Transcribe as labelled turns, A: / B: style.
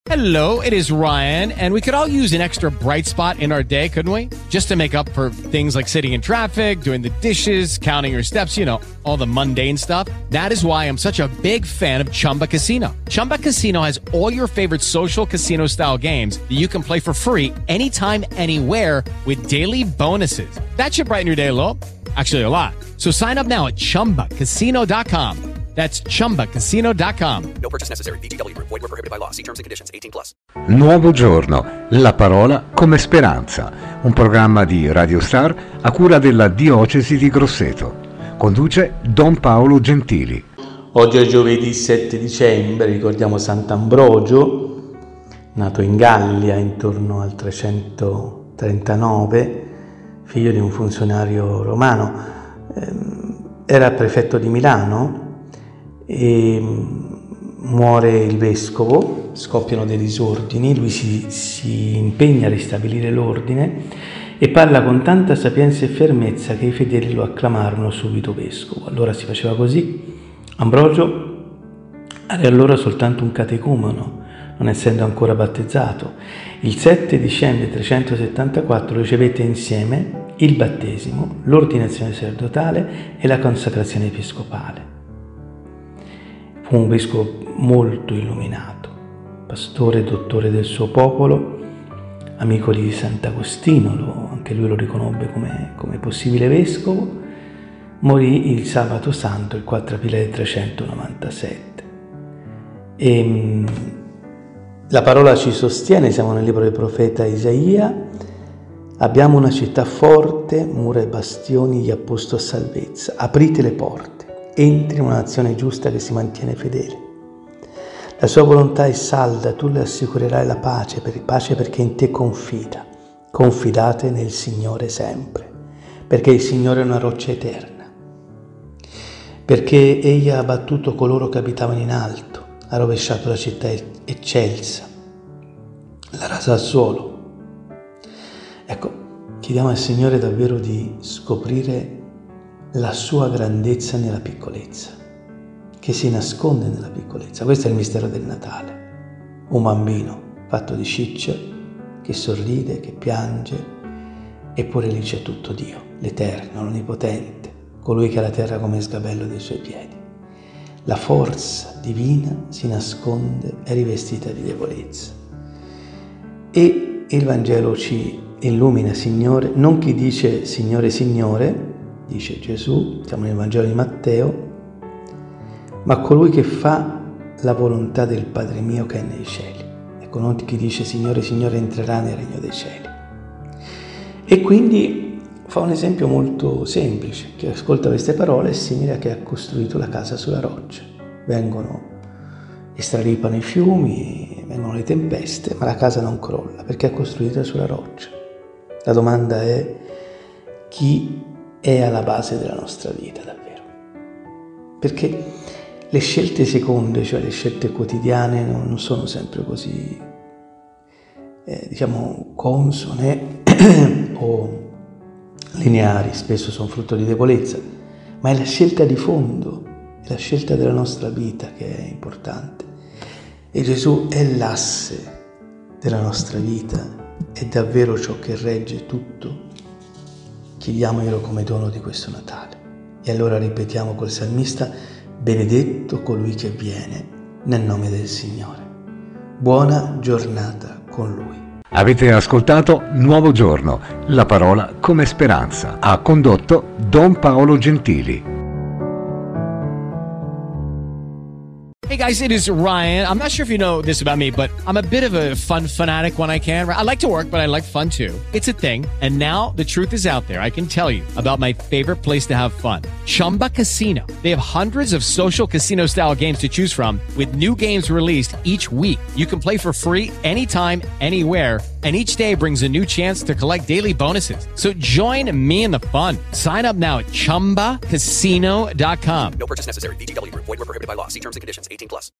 A: Hello, it is Ryan, and we could all use an extra bright spot in our day, couldn't we? Just to make up for things like sitting in traffic, doing the dishes, counting your steps, you know, all the mundane stuff. That is why I'm such a big fan of Chumba Casino. Chumba Casino has all your favorite social casino-style games that you can play for free anytime, anywhere with daily bonuses. That should brighten your day a little. Actually, a lot. So sign up now at ChumbaCasino.com. That's ChumbaCasino.com.
B: No purchase necessary. VGW Group. Void where prohibited by law. See terms and conditions. 18+.
C: Nuovo giorno, la parola come speranza. Un programma di Radio Star a cura della Diocesi di Grosseto. Conduce Don Paolo Gentili.
D: Oggi è giovedì 7 dicembre, ricordiamo Sant'Ambrogio, nato in Gallia intorno al 339, figlio di un funzionario romano. Era prefetto di Milano e muore il vescovo, scoppiano dei disordini, lui si impegna a ristabilire l'ordine e parla con tanta sapienza e fermezza che i fedeli lo acclamarono subito vescovo. Allora si faceva così. Ambrogio era allora soltanto un catecumeno, non essendo ancora battezzato. Il 7 dicembre 374 ricevette insieme il battesimo, l'ordinazione sacerdotale e la consacrazione episcopale. Fu un vescovo molto illuminato, pastore e dottore del suo popolo, amico di Sant'Agostino, anche lui lo riconobbe come possibile vescovo. Morì il sabato santo, il 4 aprile 397. E la parola ci sostiene, siamo nel libro del profeta Isaia. Abbiamo una città forte, mura e bastioni gli ha posto a salvezza. Aprite le porte. Entri in una nazione giusta che si mantiene fedele. La sua volontà è salda, tu le assicurerai la pace perché in te confida. Confidate nel Signore sempre, perché il Signore è una roccia eterna. Perché egli ha abbattuto coloro che abitavano in alto, ha rovesciato la città eccelsa, la rasa al suolo. Ecco, chiediamo al Signore davvero di scoprire la sua grandezza nella piccolezza, che si nasconde nella piccolezza. Questo è il mistero del Natale. Un bambino fatto di ciccia, che sorride, che piange, eppure lì c'è tutto Dio, l'Eterno, l'Onnipotente, colui che ha la terra come sgabello dei suoi piedi. La forza divina si nasconde, è rivestita di debolezza. E il Vangelo ci illumina, Signore, non chi dice Signore, Signore, dice Gesù, siamo nel Vangelo di Matteo, ma colui che fa la volontà del Padre mio che è nei cieli. Ecco, non chi dice Signore, Signore entrerà nel regno dei cieli. E quindi fa un esempio molto semplice. Chi ascolta queste parole è simile a chi ha costruito la casa sulla roccia. Straripano i fiumi, vengono le tempeste, ma la casa non crolla perché è costruita sulla roccia. La domanda è: chi è alla base della nostra vita davvero? Perché le scelte seconde, cioè le scelte quotidiane, non sono sempre così, consone o lineari, spesso sono frutto di debolezza, ma è la scelta di fondo, è la scelta della nostra vita che è importante. E Gesù è l'asse della nostra vita, è davvero ciò che regge tutto. Chiediamoglielo come dono di questo Natale. E allora ripetiamo col salmista: benedetto colui che viene nel nome del Signore. Buona giornata con Lui.
C: Avete ascoltato Nuovo Giorno, la parola come speranza. Ha condotto Don Paolo Gentili.
A: Hey guys, it is Ryan. I'm not sure if you know this about me, but I'm a bit of a fun fanatic when I can. I like to work, but I like fun too. It's a thing. And now the truth is out there. I can tell you about my favorite place to have fun. Chumba Casino. They have hundreds of social casino style games to choose from with new games released each week. You can play for free anytime, anywhere. And each day brings a new chance to collect daily bonuses. So join me in the fun. Sign up now at ChumbaCasino.com.
B: No purchase necessary. VGW Group. Void where prohibited by law. See terms and conditions. 18+.